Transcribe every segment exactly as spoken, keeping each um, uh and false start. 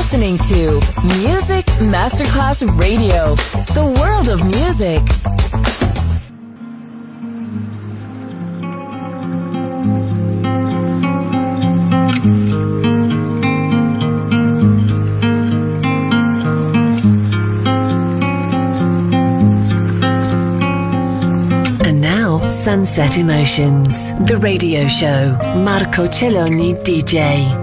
listening to Music Masterclass Radio, the world of music. And now, Sunset Emotions, the radio show. Marco Celloni D J.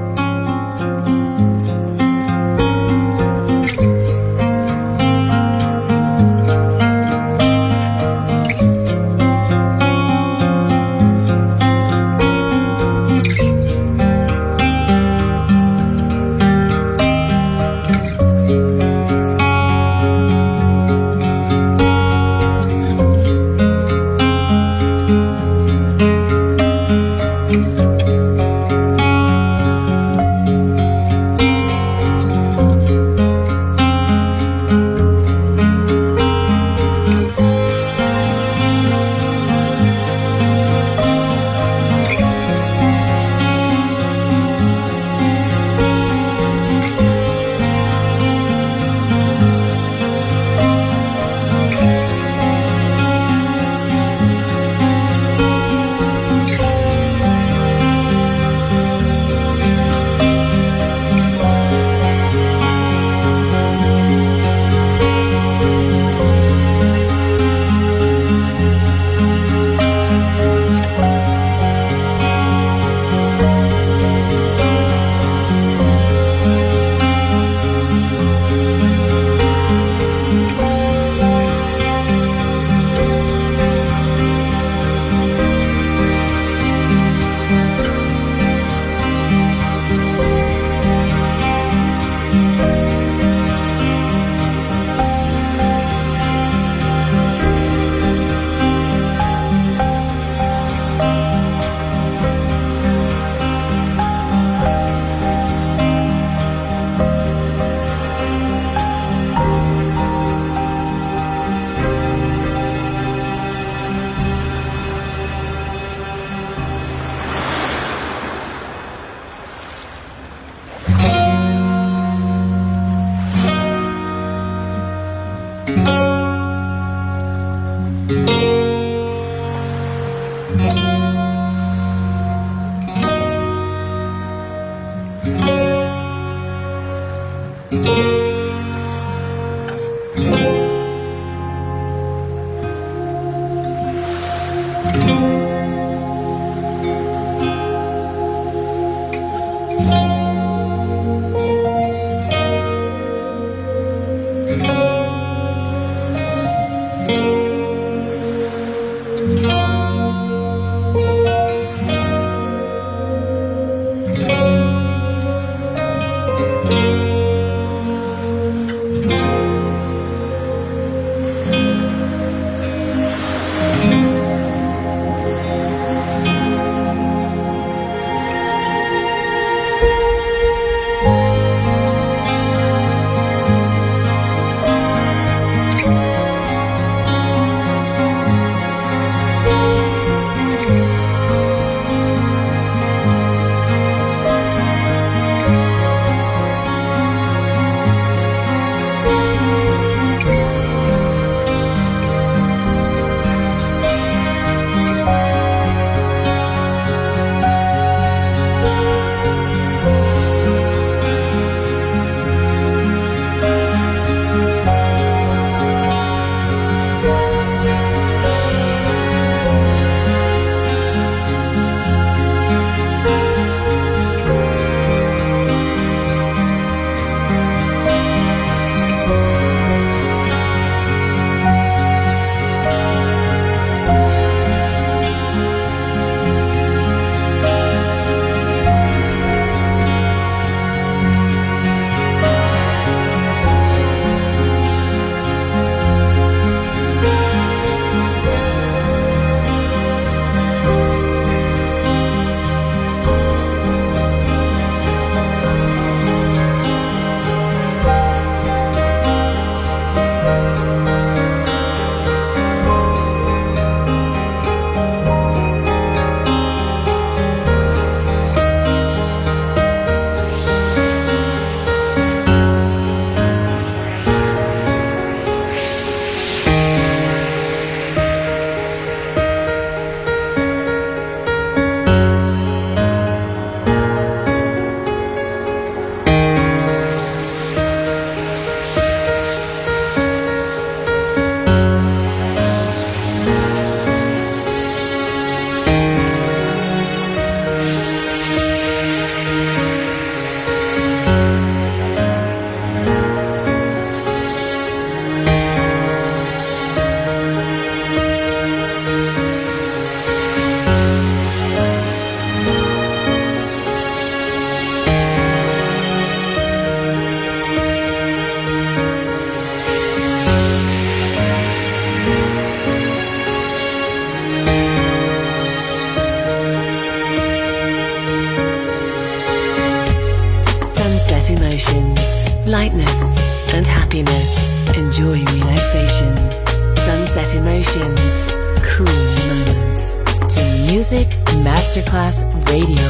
Sunset Emotions. Lightness and happiness. Enjoy relaxation. Sunset Emotions. Cool moments. To Music Masterclass Radio.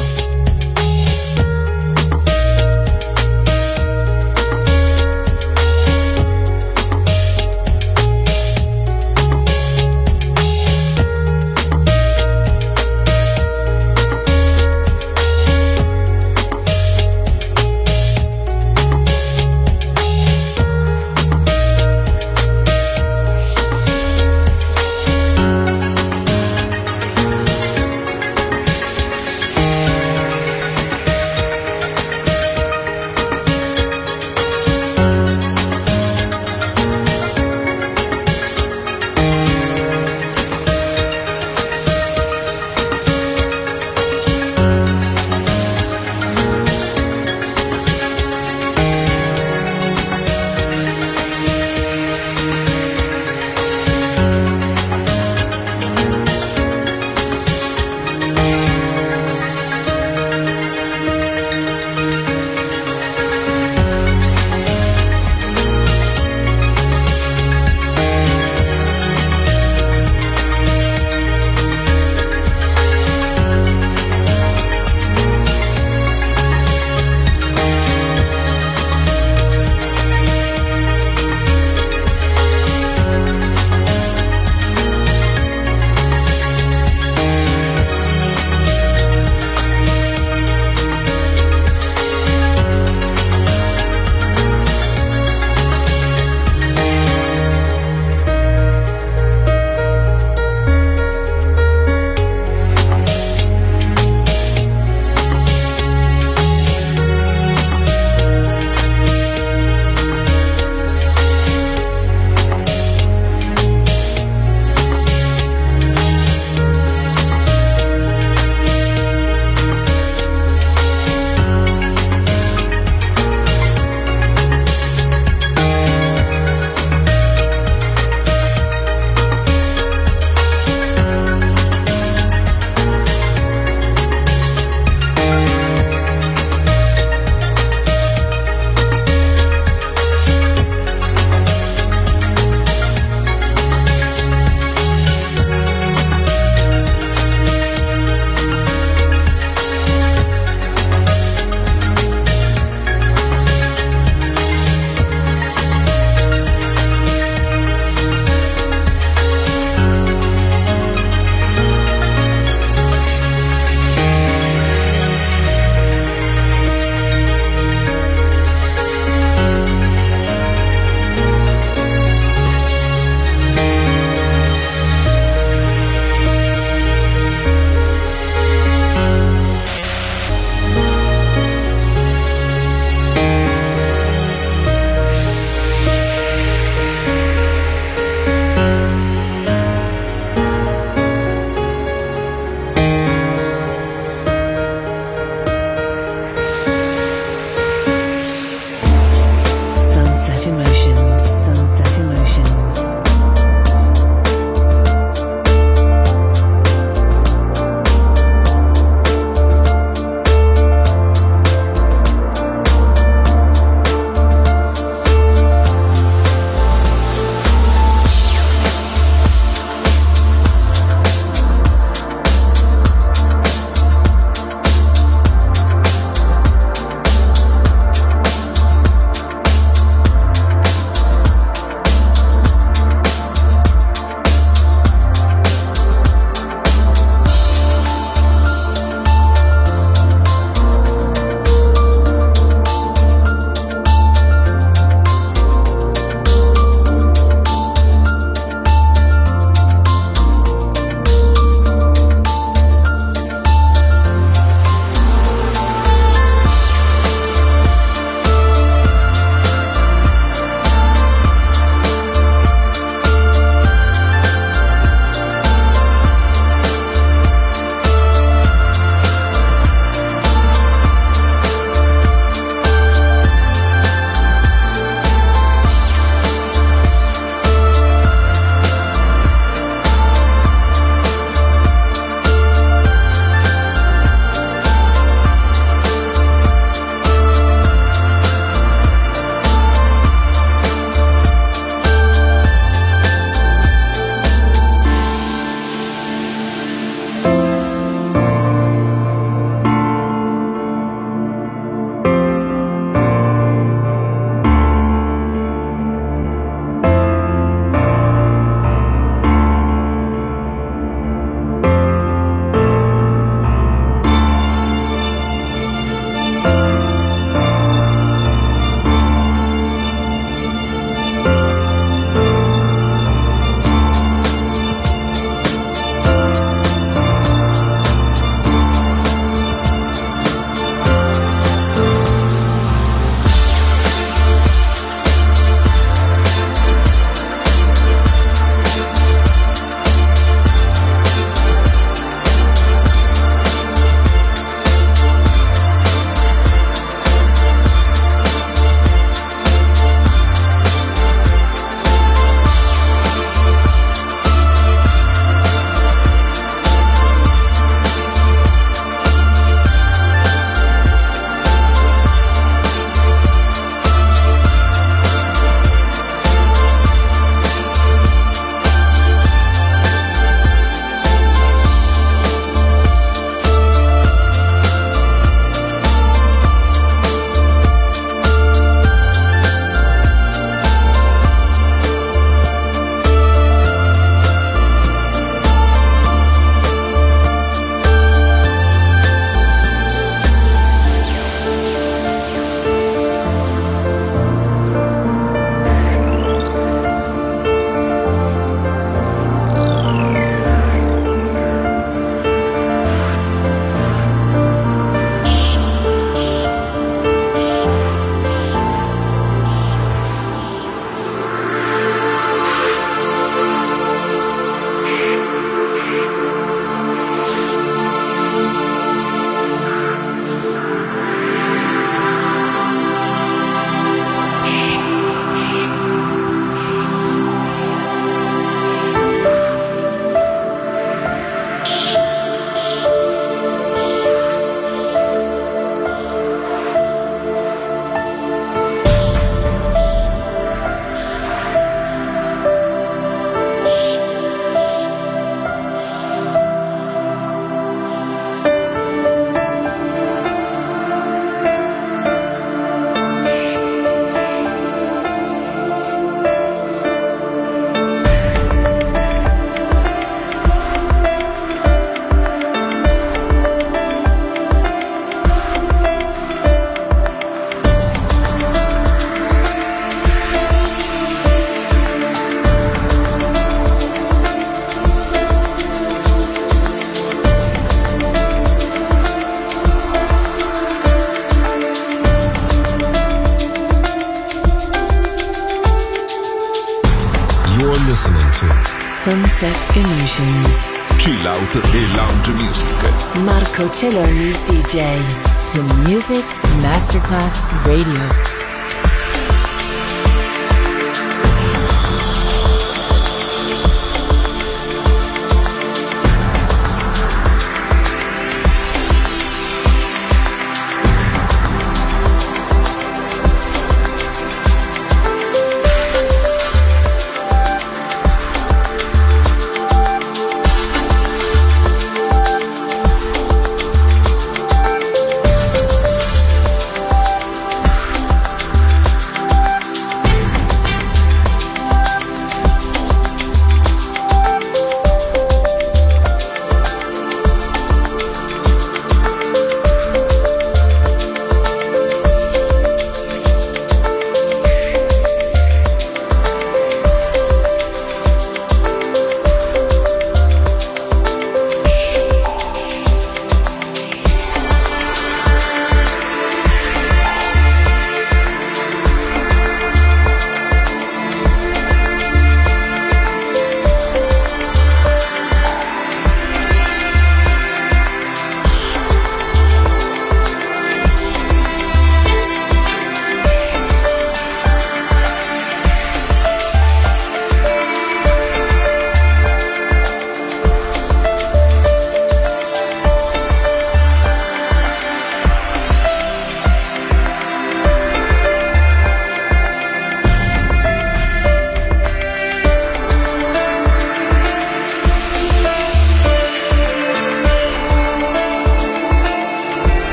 Sunset Emotions. Chill out e lounge music. Marco Celloni D J. To Music Masterclass Radio.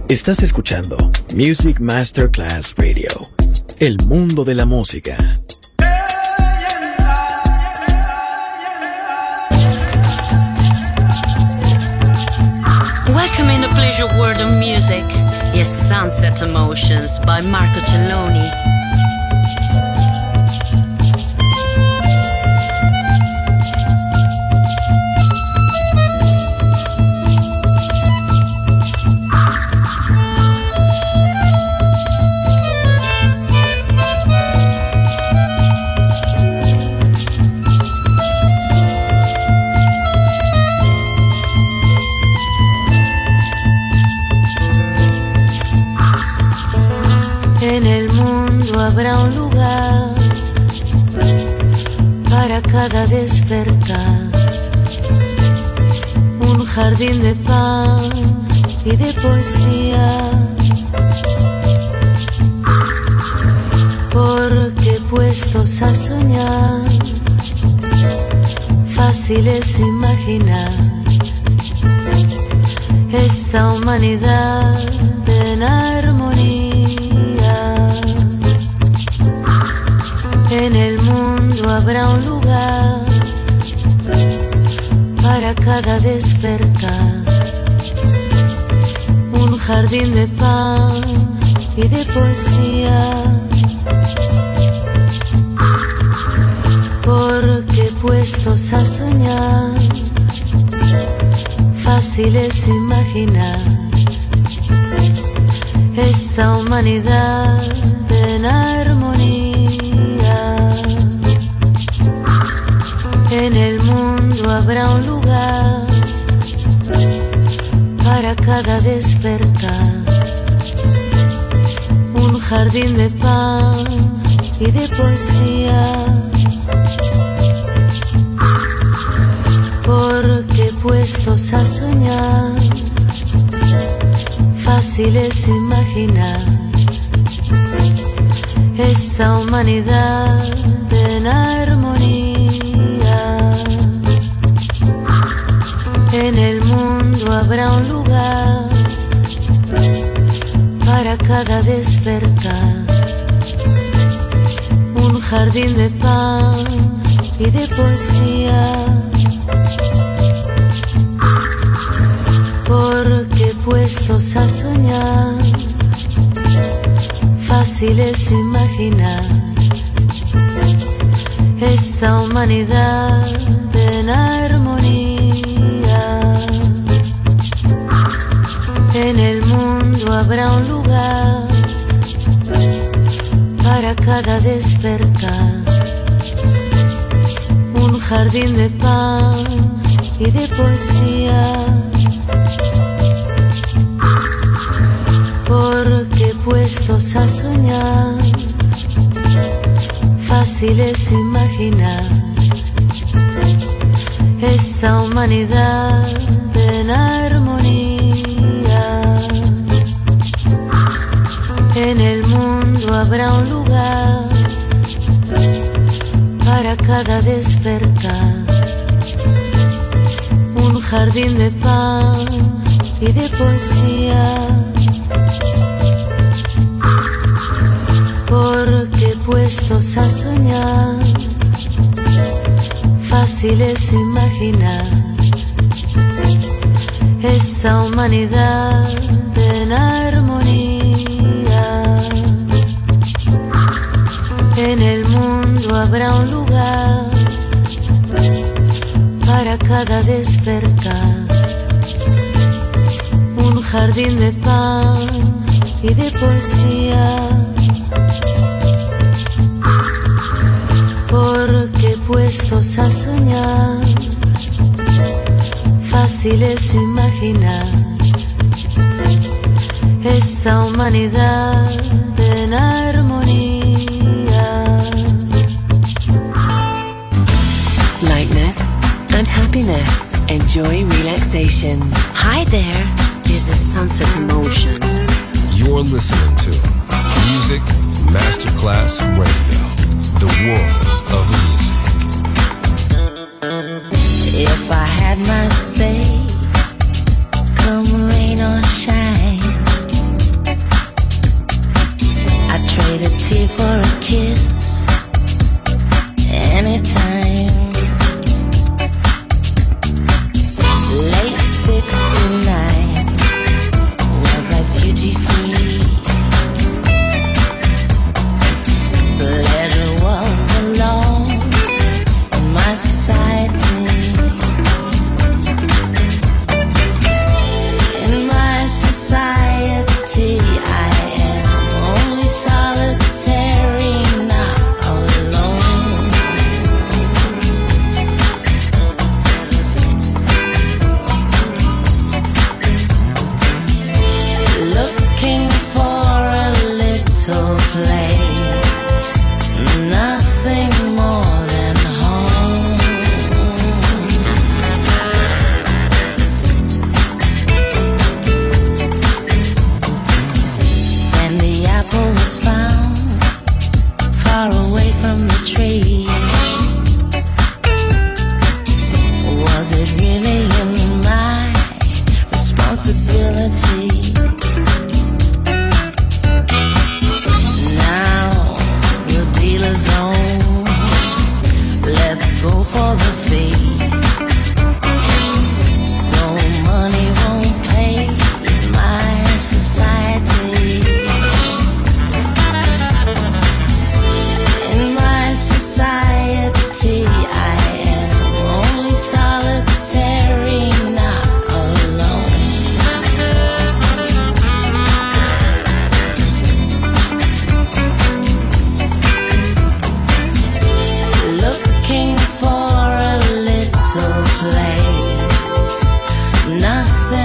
Estás escuchando Music Masterclass Radio, el mundo de la música. Welcome in the pleasure world of music. Yes, Sunset Emotions by Marco Celloni. En el mundo habrá un lugar para cada despertar, un jardín de pan y de poesía, porque puestos a soñar, fácil es imaginar esta humanidad en armonía. En el mundo habrá un lugar para cada despertar, un jardín de pan y de poesía, porque puestos a soñar, fácil es imaginar esta humanidad en armonía. En el mundo habrá un lugar para cada despertar, un jardín de pan y de poesía, porque puestos a soñar, fácil es imaginar esta humanidad en armonía. En el mundo habrá un lugar para cada despertar, un jardín de pan y de poesía, porque puestos a soñar, fácil es imaginar esta humanidad en armonía. En el mundo habrá un lugar para cada despertar, un jardín de pan y de poesía, porque puestos a soñar, fácil es imaginar esta humanidad en armonía. En el mundo habrá un lugar para cada despertar, un jardín de pan y de poesía, porque puestos a soñar, fácil es imaginar esta humanidad en armonía. En el mundo habrá un lugar para cada despertar, un jardín de pan y de poesía, porque puestos a soñar, fácil es imaginar esta humanidad en armonía. Lightness and happiness. Enjoy relaxation. Hi there, this is Sunset Emotions. You're listening to Music Masterclass Radio, the world of music. If I had my say, come rain or shine,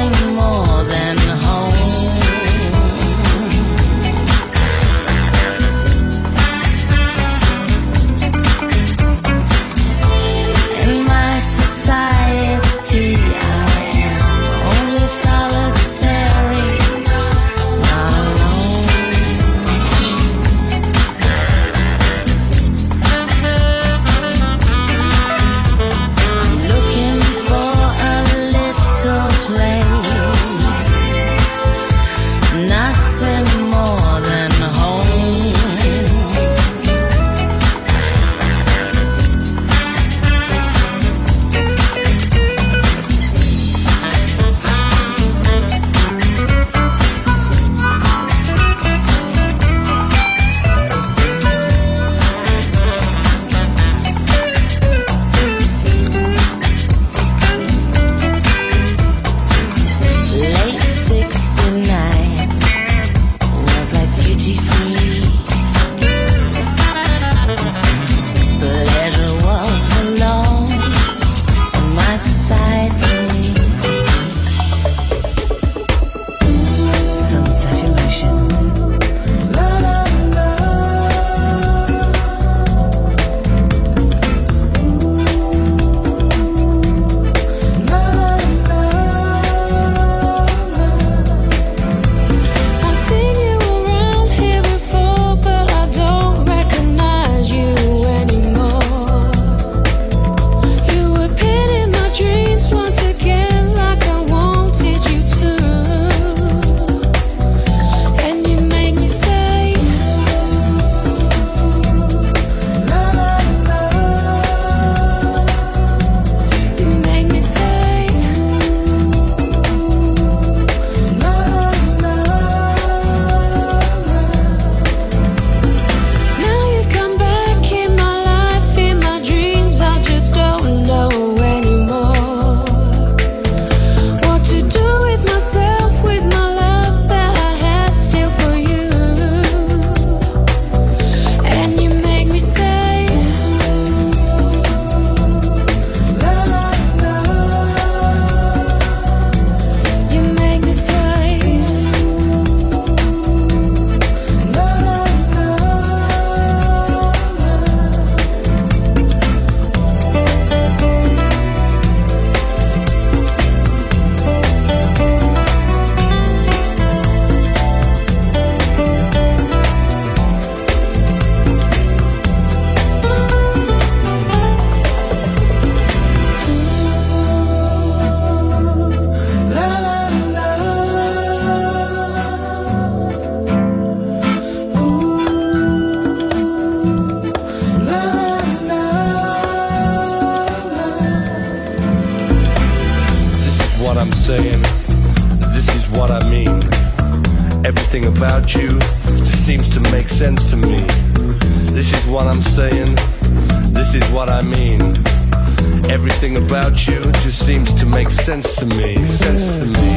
saying, this is what I mean. Everything about you just seems to make sense to me. This is what I'm saying, this is what I mean. Everything about you just seems to make sense to me, sense to me.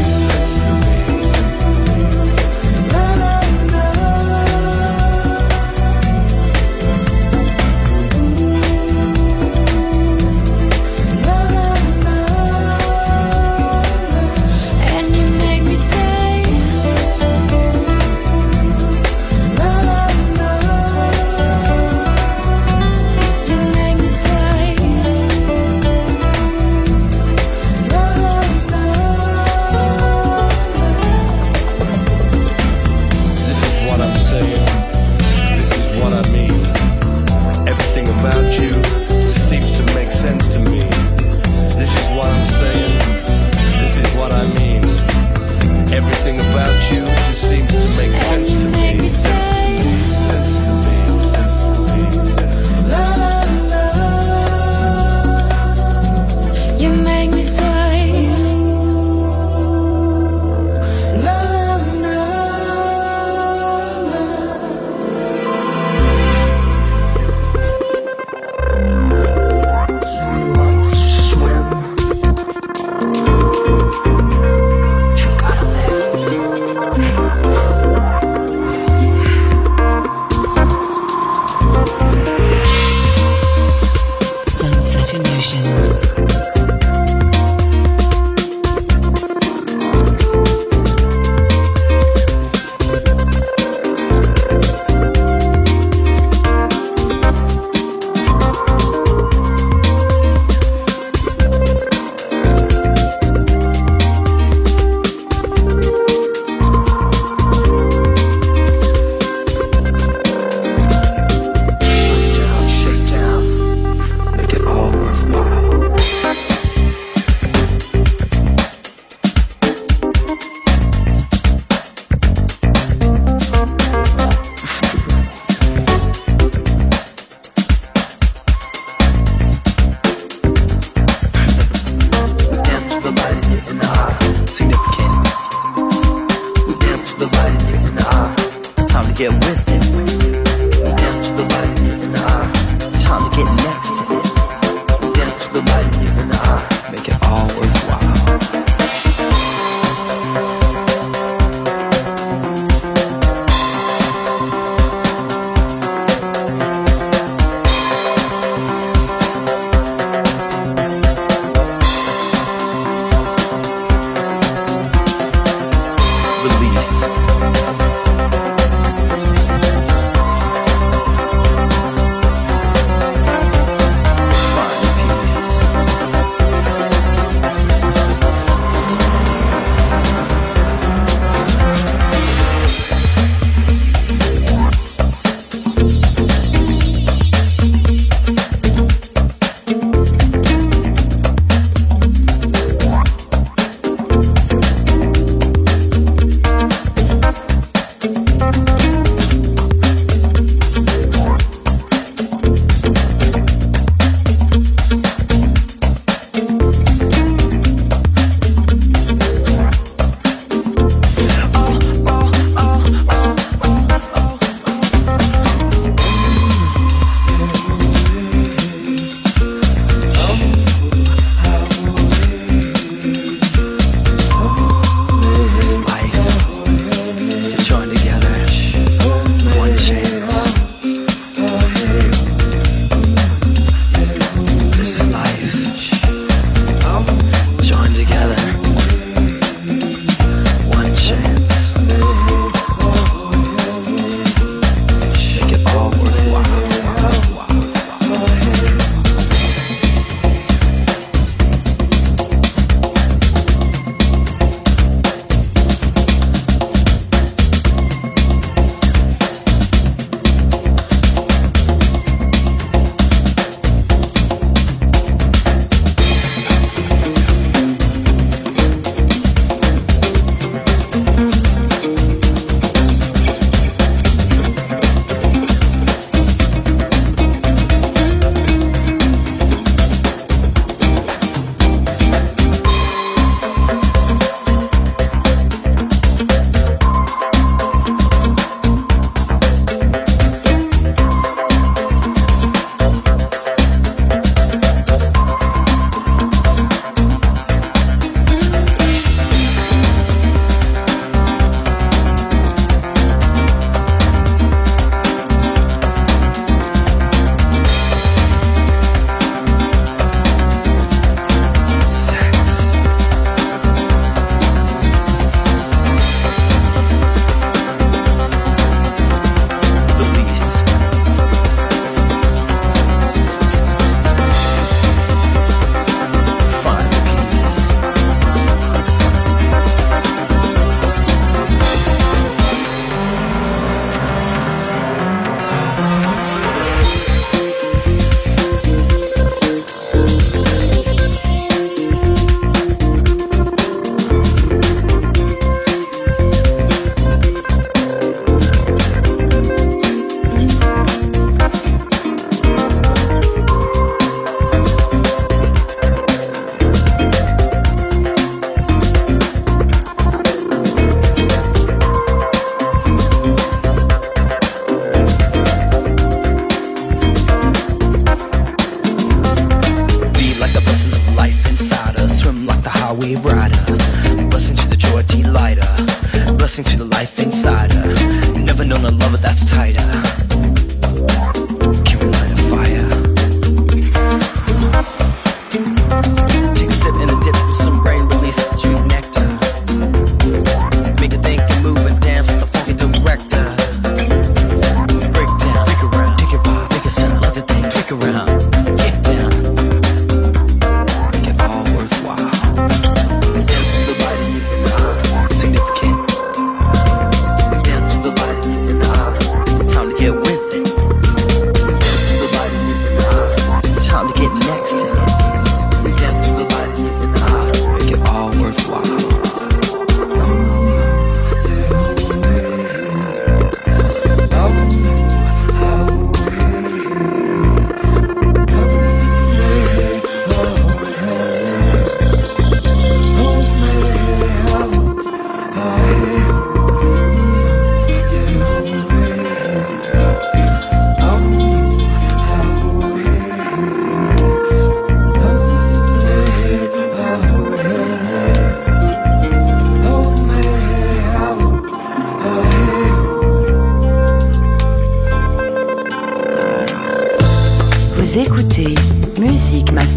get with it. Down to the light and ah, time to get next to it. Down to the light and ah, make it all worthwhile. Significant. Down to the light and ah, time to get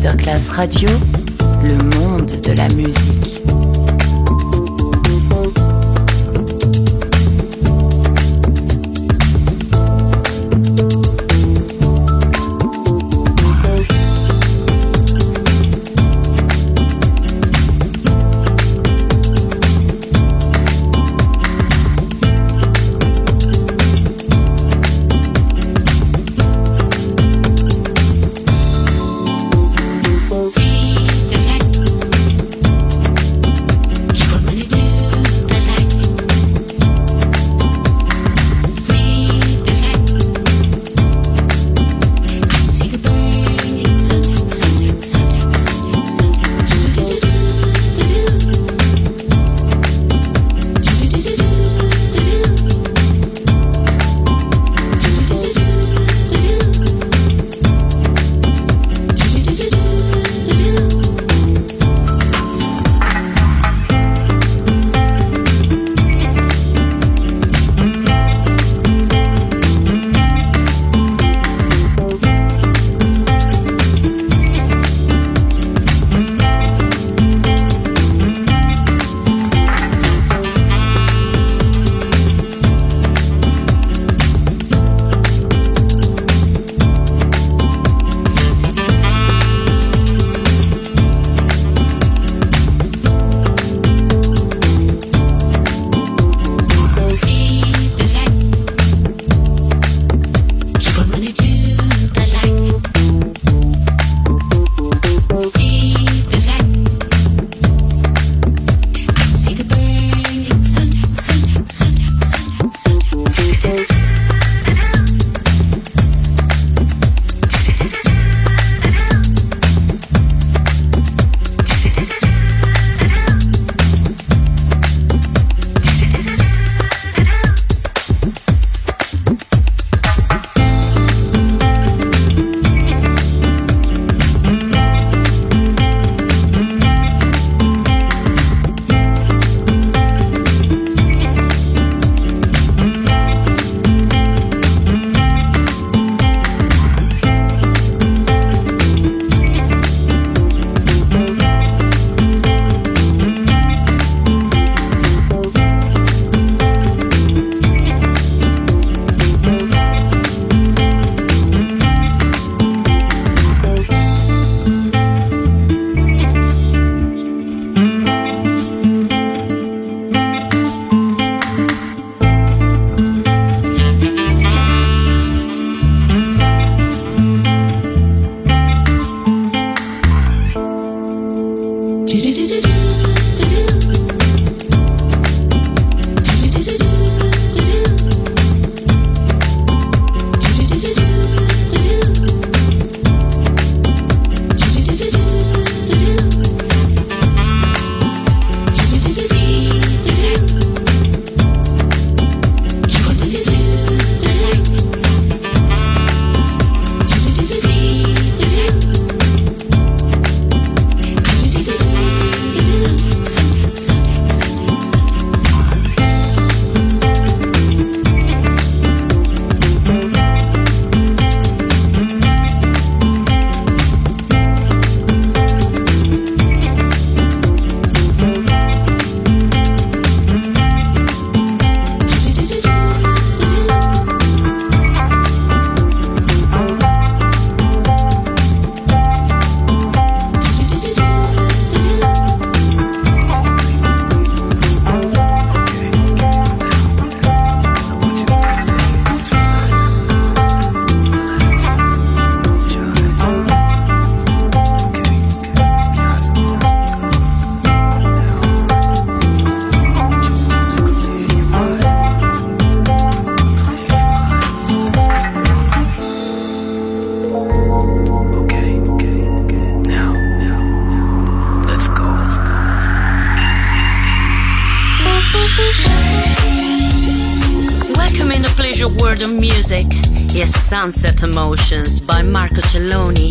Masterclass Radio, le monde de la musique. World of Music is Sunset Emotions by Marco Celloni.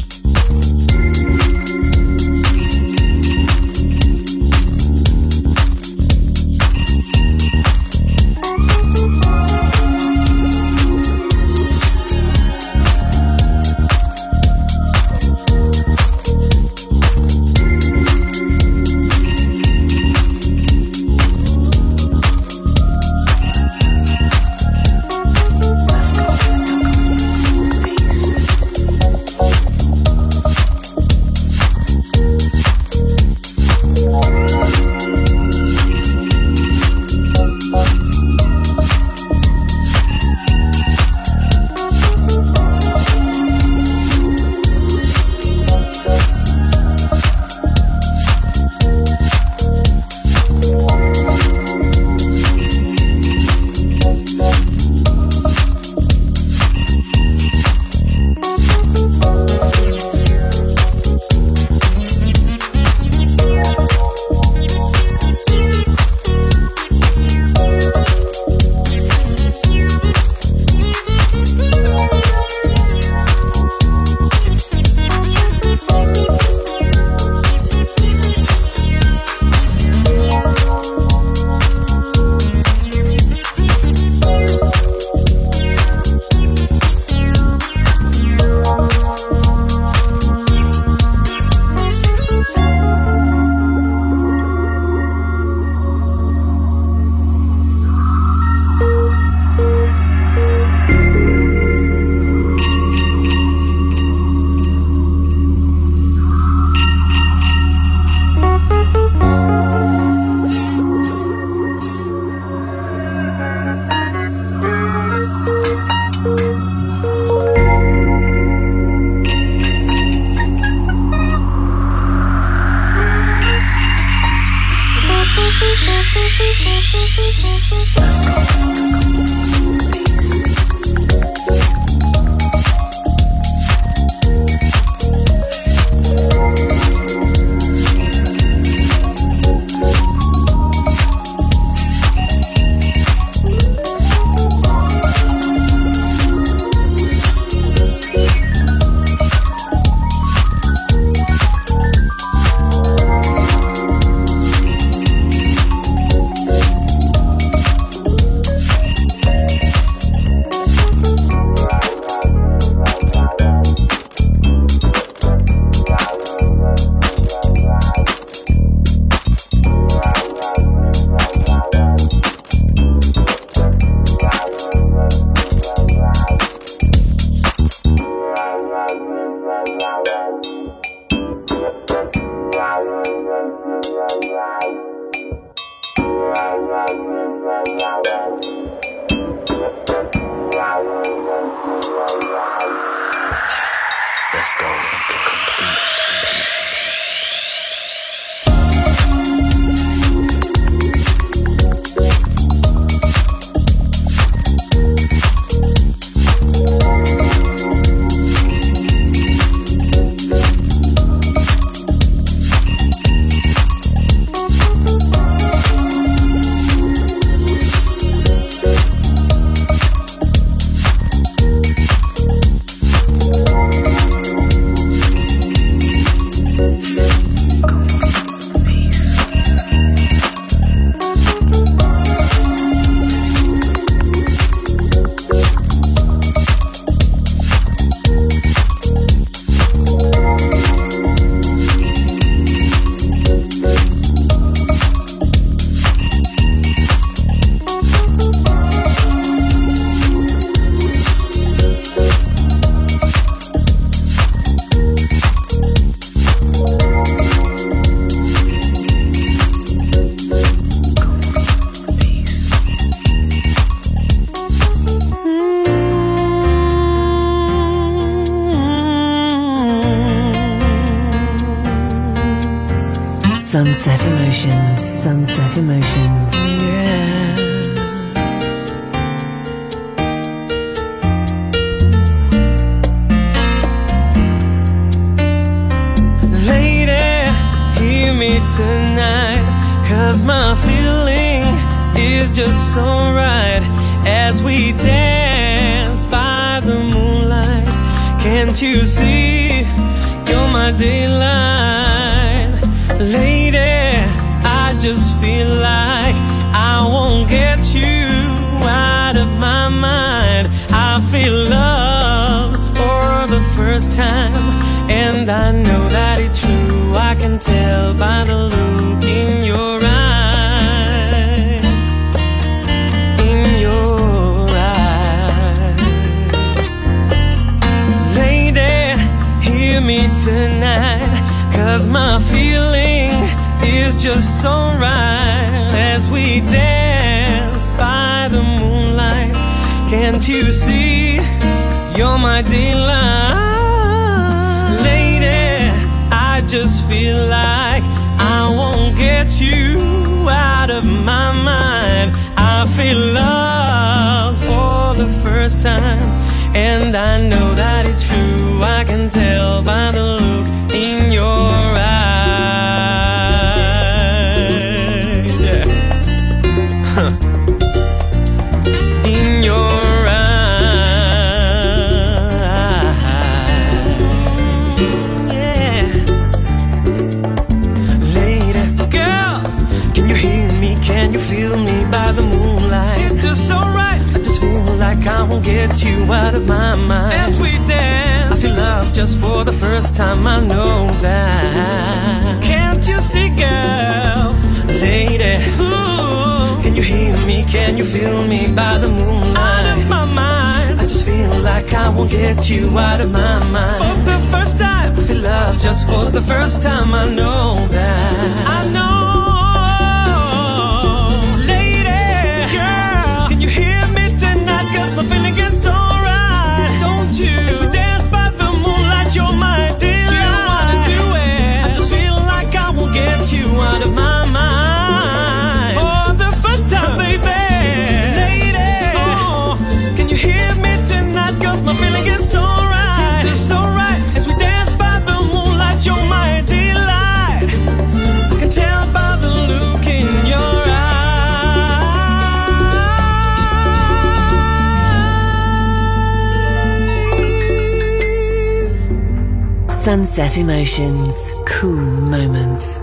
Sunset Emotions. Sunset Emotions. Yeah. Lady, hear me tonight, 'cause my feeling is just so right as we dance by the moonlight. Can't you see you're my daylight? Lady, I just feel like I won't get you out of my mind. I feel love for the first time, and I know that it's true. I can tell by the look in your eyes, in your eyes. Lady, hear me tonight, 'cause my feeling is just so right as we dance by the moonlight. Can't you see you're my delight? Lady, I just feel like I won't get you out of my mind. I feel love for the first time, and I know that it's true. I can tell by the look in your eyes. Yeah. Huh. In your eyes. Yeah. Lady, girl, can you hear me? Can you feel me by the moonlight? It's just so right. I just feel like I won't get you out of my mind. As we dance, I feel love just for the first time. I know that. Can't you see, girl? Lady, ooh, can you hear me? Can you feel me by the moonlight? Out of my mind. I just feel like I won't get you out of my mind. For the first time, I feel love just for the first time. I know that. I know. My feeling is so right, don't you? As we dance by the moonlight, you're my delight. You wanna do it? I just feel like I won't get you out of my mind. For the first time, baby. Lady, oh, can you hear me tonight? 'Cause my feeling is so right, it's just so right. As we dance by the moonlight, you're my delight. I can tell by the look in your eyes. Sunset Emotions. Cool moments.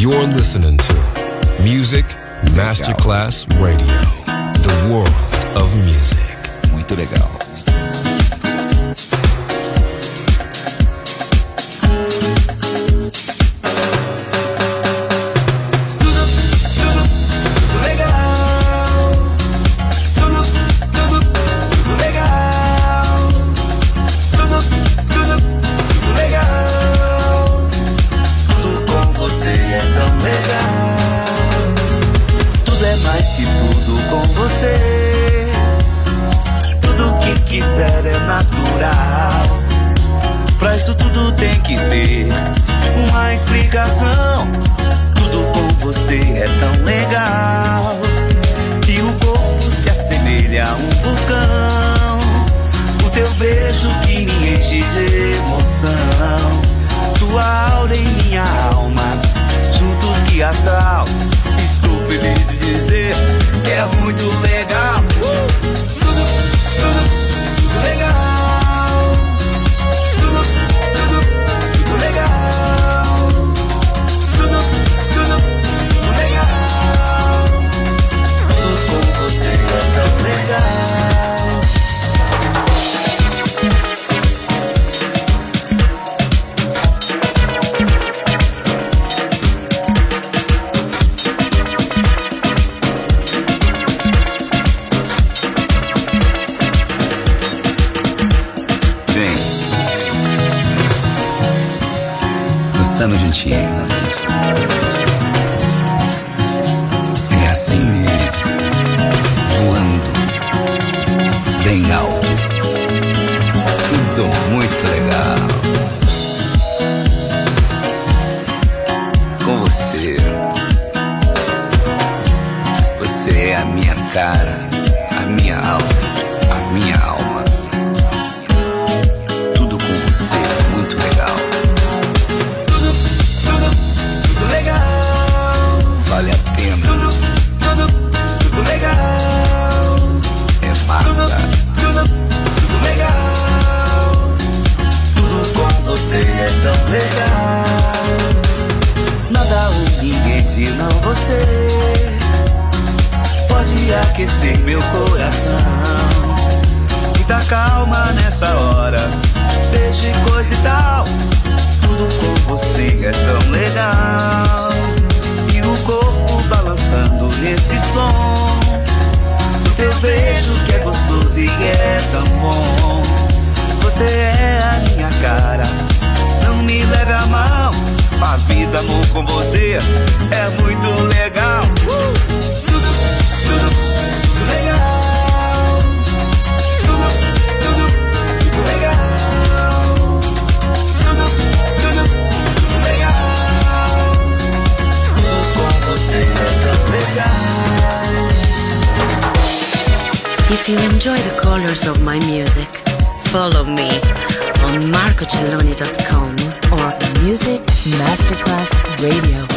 You're listening to Music Masterclass Radio, the world of music. Muito legal. Tudo que quiser é natural. Pra isso tudo tem que ter uma explicação. Tudo com você é tão legal. E o corpo se assemelha a um vulcão. O teu beijo que me enche de emoção. Tua aura em minha alma, juntos que astral. Estou feliz de dizer que é muito legal. Uh! Tudo, tudo, tudo legal. Tudo, tudo, tudo legal. Tudo, tudo, tudo legal. Tudo com você é tão legal. Dançando juntinho. É assim mesmo. Voando. Bem alto. Tudo muito legal. Com você. Você é a minha cara, a minha alma, a minha alma. Tudo com você é muito legal. Vale a pena. Tudo, tudo, tudo legal. É massa. Tudo, tudo legal. Tudo com você é tão legal. Nada ou ninguém senão você pode aquecer meu coração. Muita calma nessa hora. Deixe coisa e tal. Tudo com você é tão legal. O corpo balançando nesse som. O teu beijo que é gostoso e é tão bom. Você é a minha cara, não me leve a mal. A vida, amor, com você é muito legal. uh! Tudo, tudo, tudo legal. Tudo, tudo, tudo legal. Tudo, tudo, tudo legal. Você é tão legal. If you enjoy the colors of my music, follow me on marco celloni dot com or Music Masterclass Radio.